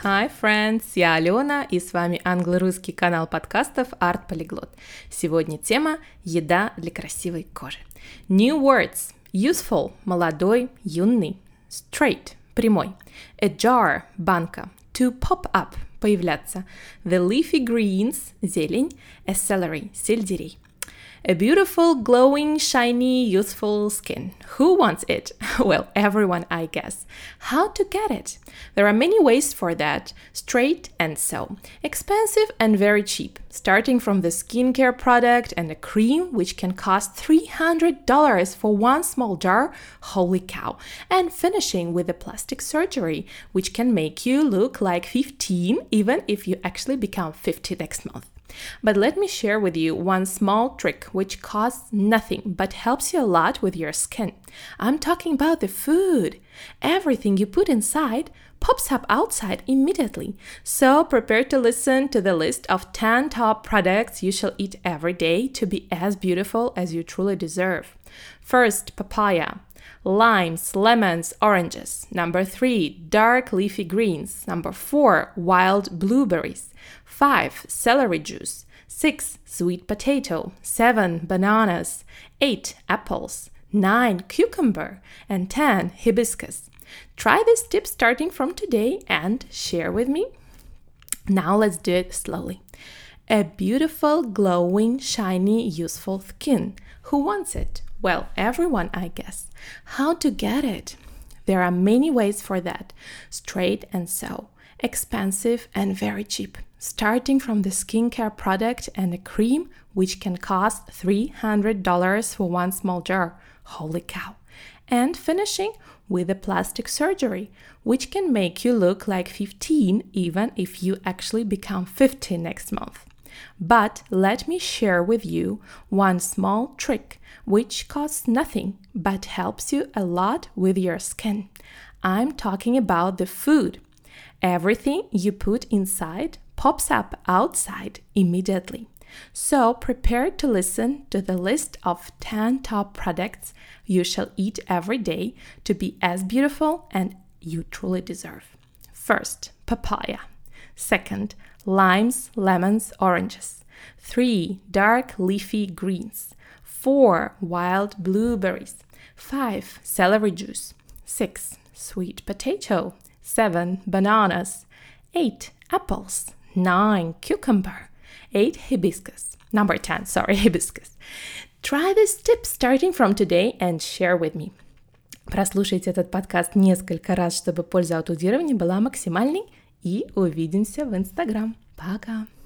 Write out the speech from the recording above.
Hi, friends! Я Алена, и с вами англо-русский канал подкастов Art Polyglot. Сегодня тема «Еда для красивой кожи». New words. Useful – молодой, юный. Straight – прямой. A jar – банка. To pop up – появляться. The leafy greens – зелень. A celery – сельдерей. A beautiful, glowing, shiny, youthful skin. Who wants it? Well, everyone, I guess. How to get it? There are many ways for that. Straight and sew. Expensive and very cheap. Starting from the skincare product and a cream, which can cost $300 for one small jar. Holy cow. And finishing with the plastic surgery, which can make you look like 15, even if you actually become 50 next month. But let me share with you one small trick which costs nothing but helps you a lot with your skin. I'm talking about the food. Everything you put inside pops up outside immediately. So prepare to listen to the list of 10 top products you shall eat every day to be as beautiful as you truly deserve. First, papaya. Limes, lemons, oranges. Number 3, dark leafy greens. Number 4, wild blueberries. 5, celery juice. 6, sweet potato. 7, bananas. 8, apples. 9, cucumber. And 10, hibiscus. Try this tip starting from today and share with me. Now let's do it slowly. A beautiful, glowing, shiny, useful skin. Who wants it? Well, everyone, I guess. How to get it? There are many ways for that. Straight and sew. Expensive and very cheap. Starting from the skincare product and a cream, which can cost $300 for one small jar. Holy cow. And finishing with a plastic surgery, which can make you look like 15 even if you actually become 50 next month. But let me share with you one small trick which costs nothing but helps you a lot with your skin. I'm talking about the food. Everything you put inside pops up outside immediately. So prepare to listen to the list of 10 top products you shall eat every day to be as beautiful and you truly deserve. First, papaya. Second, limes, lemons, oranges. 3, dark leafy greens. 4, wild blueberries. 5, celery juice. 6, sweet potato. 7, bananas. 8, apples. 9, cucumber. 8, hibiscus. Number 10, hibiscus. Try this tip starting from today and share with me. Прослушайте этот подкаст несколько раз, чтобы польза от аудирования была максимальной. И увидимся в Инстаграм. Пока!